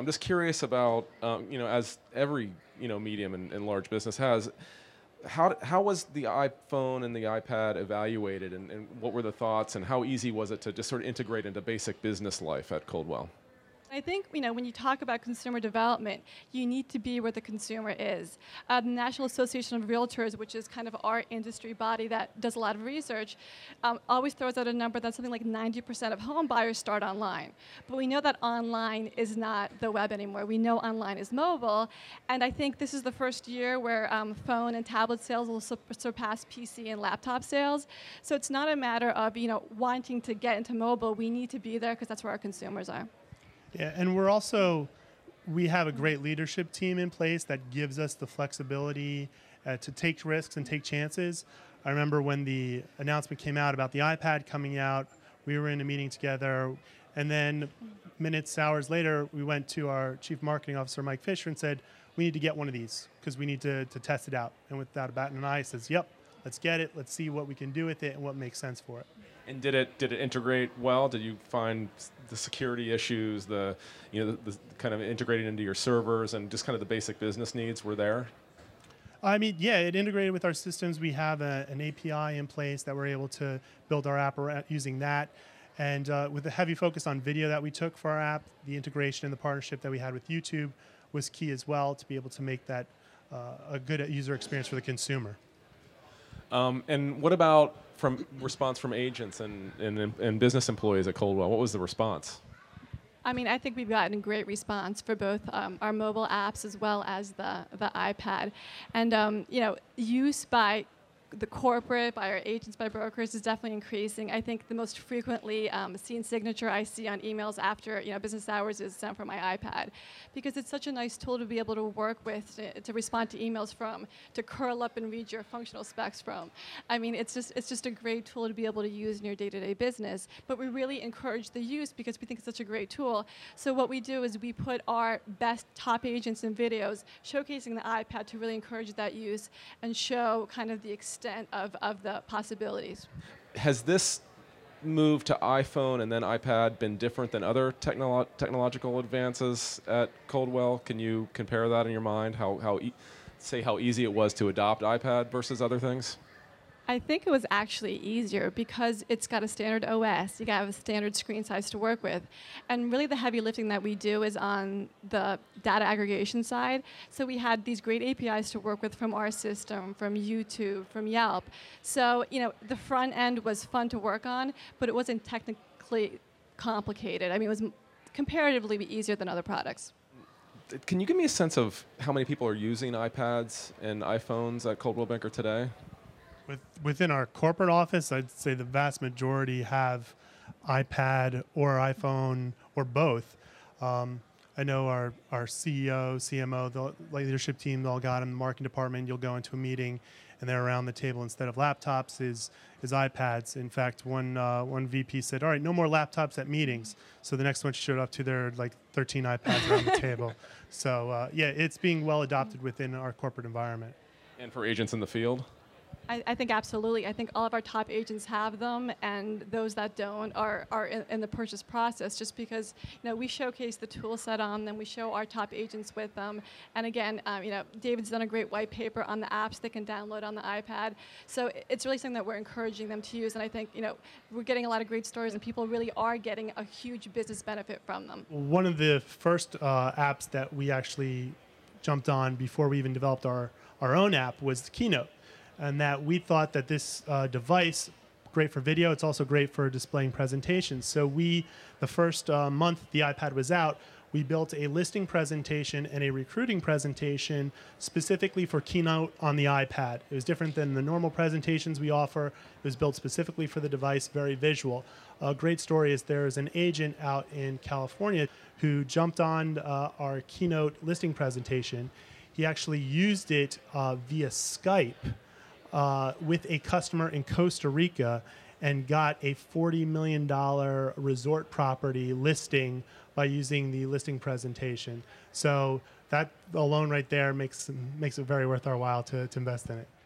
I'm just curious about, as every medium and large business has, how was the iPhone and the iPad evaluated, and what were the thoughts, and how easy was it to just sort of integrate into basic business life at Coldwell? I think when you talk about consumer development, you need to be where the consumer is. The National Association of Realtors, which is kind of our industry body that does a lot of research, always throws out a number that's something like 90% of home buyers start online. But we know that online is not the web anymore. We know online is mobile, and I think this is the first year where phone and tablet sales will surpass PC and laptop sales. So it's not a matter of wanting to get into mobile. We need to be there because that's where our consumers are. Yeah, and we have a great leadership team in place that gives us the flexibility to take risks and take chances. I remember when the announcement came out about the iPad coming out, we were in a meeting together, and then hours later, we went to our Chief Marketing Officer, Mike Fisher, and said, we need to get one of these because we need to test it out. And without a bat in an eye, he says, yep, let's get it. Let's see what we can do with it and what makes sense for it. And did it integrate well? Did you find the security issues, the kind of integrating into your servers, and just kind of the basic business needs were there? I mean, yeah, it integrated with our systems. We have an API in place that we're able to build our app using that. And with the heavy focus on video that we took for our app, the integration and the partnership that we had with YouTube was key as well to be able to make that a good user experience for the consumer. And what about response from agents and business employees at Coldwell? What was the response? I mean, I think we've gotten great response for both our mobile apps as well as the iPad. And, use by the corporate, by our agents, by brokers is definitely increasing. I think the most frequently seen signature I see on emails after business hours is sent from my iPad, because it's such a nice tool to be able to work with, to respond to emails from, to curl up and read your functional specs from. I mean, it's just a great tool to be able to use in your day-to-day business. But we really encourage the use because we think it's such a great tool. So what we do is we put our best top agents in videos showcasing the iPad to really encourage that use and show kind of the extent of the possibilities. Has this move to iPhone and then iPad been different than other technological advances at Coldwell? Can you compare that in your mind? How easy it was to adopt iPad versus other things? I think it was actually easier because it's got a standard OS. You got a standard screen size to work with. And really the heavy lifting that we do is on the data aggregation side. So we had these great APIs to work with from our system, from YouTube, from Yelp. So, the front end was fun to work on, but it wasn't technically complicated. I mean, it was comparatively easier than other products. Can you give me a sense of how many people are using iPads and iPhones at Coldwell Banker today? Within our corporate office, I'd say the vast majority have iPad or iPhone or both. I know our CEO, CMO, the leadership team, they all got in the marketing department. You'll go into a meeting, and they're around the table instead of laptops is iPads. In fact, one VP said, "All right, no more laptops at meetings." So the next one showed up to their 13 iPads around the table. So yeah, it's being well adopted within our corporate environment. And for agents in the field? I think absolutely. I think all of our top agents have them, and those that don't are in the purchase process just because we showcase the tool set on them. We show our top agents with them. And again, David's done a great white paper on the apps they can download on the iPad. So it's really something that we're encouraging them to use. And I think we're getting a lot of great stories, and people really are getting a huge business benefit from them. One of the first apps that we actually jumped on before we even developed our own app was Keynote. And that we thought that this device, great for video, it's also great for displaying presentations. So the first month the iPad was out, we built a listing presentation and a recruiting presentation specifically for Keynote on the iPad. It was different than the normal presentations we offer. It was built specifically for the device, very visual. A great story is there's an agent out in California who jumped on our Keynote listing presentation. He actually used it via Skype with a customer in Costa Rica and got a $40 million resort property listing by using the listing presentation. So that alone right there makes it very worth our while to invest in it.